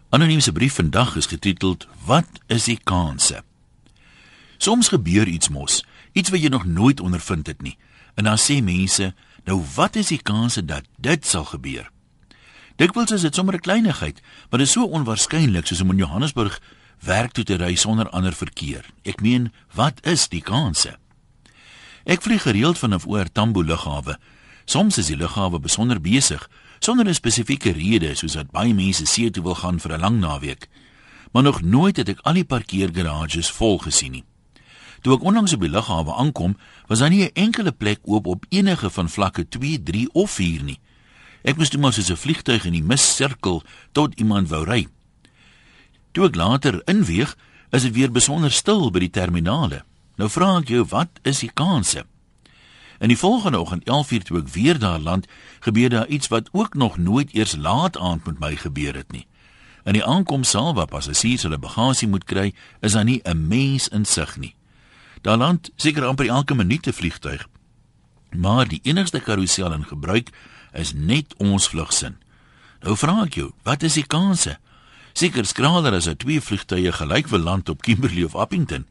Anoniem se brief vandag is getiteld Wat is die kanse? Soms gebeur iets mos, iets wat jy nog nooit ondervind het nie. En dan sê mense, nou wat is die kanse dat dit sal gebeur? Dikwels is dit sommer 'n kleinigheid, maar dit is so onwaarskynlik soos om in Johannesburg werk toe te ry sonder ander verkeer. Ek meen, wat is die kanse? Ek vlieg gereeld vanaf OR Tambo lughawe. Soms is die lughawe besonder besig, sonder 'n spesifieke rede, soos dat baie mense see toe wil gaan vir 'n lang naweek. Maar nog nooit het ek al die parkeergarages vol gesien nie. Toe ek onlangs op die lughawe aankom, was daar nie 'n enkele plek oop op enige van vlakke 2, 3 of 4 nie. Ek moes toe maar soos 'n vliegtuig in die mis sirkel tot iemand wou ry. Toe ek later inweeg, is dit weer besonder stil by die terminale. Nou vra ek jou, wat is die kanse? In die volgende oggend 11:00 toe ek weer daar land, gebeur daar iets wat ook nog nooit eers laat aand met my gebeur het nie. In die aankomsaal waar passasiers hulle bagasie moet kry, is daar nie 'n mens in sig nie. Daar land seker amper elke minuut 'n vliegtuig. Maar die enigste karusel in gebruik is net ons vlugsin. Nou vra ek jou, wat is die kanse? Seker skraler as 'n 2 vliegtuie gelyk wil land op Kimberley of Appington.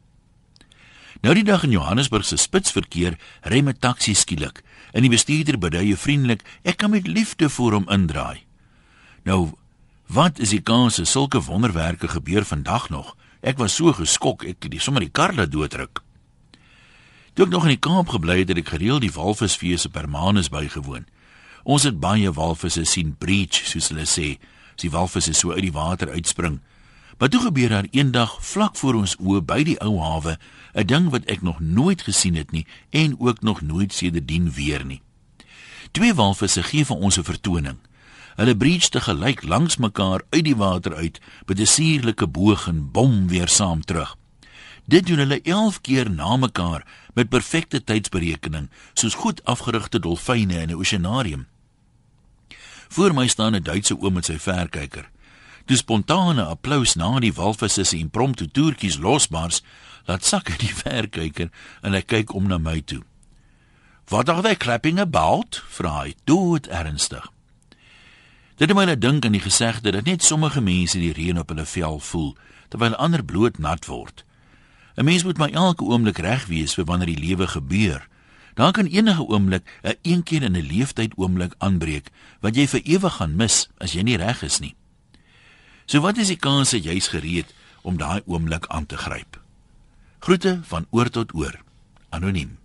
Nou die dag in Johannesburg se spitsverkeer ry 'n taxi skielik en die bestuurder bedui vriendelik, ek kan met liefde voor hom indraai. Nou, wat is die kanse sulke wonderwerke gebeur vandag nog? Ek was so geskok, ek het sommer die kar laat doodruk. Toe ek nog in die Kaap gebly het, het ek gereeld die walvisfees op Hermanus bygewoon. Ons het baie walvisse sien breach, soos hulle sê, as die walvisse so uit die water uitspring. Maar toe gebeur daar eendag vlak voor ons oë by die ou hawe 'n ding wat ek nog nooit gesien het nie en ook nog nooit sedertdien weer nie. 2 walvisse gee vir ons 'n vertoning. Hulle breach te gelyk langs mekaar uit die water uit met 'n suurlike boog en bom weer saam terug. Dit doen hulle 11 keer na mekaar met perfekte tydsberekening, soos goed afgerigte dolfyne in 'n oseanarium. Voor my staan 'n Duitse oom met sy verkyker. Toe spontane applaus na die walvisse se impromptu toertjies losbars, laat sak hy die verkyker en hy kyk om na my toe. "What are they clapping about?" vra hy, dood ernstig. Dit het my laat dink aan die gesegde dat net sommige mense die reën op hulle vel voel, terwyl ander bloot nat word. 'n Mens moet maar elke oomblik reg wees vir wanneer die lewe gebeur. Daar kan enige oomblik 'n een keer in 'n leeftyd oomblik aanbreek, wat jy vir ewig gaan mis as jy nie reg is nie. So wat is die kans dat jy's gereed om daai oomblik aan te gryp? Groete van oor tot oor. Anoniem.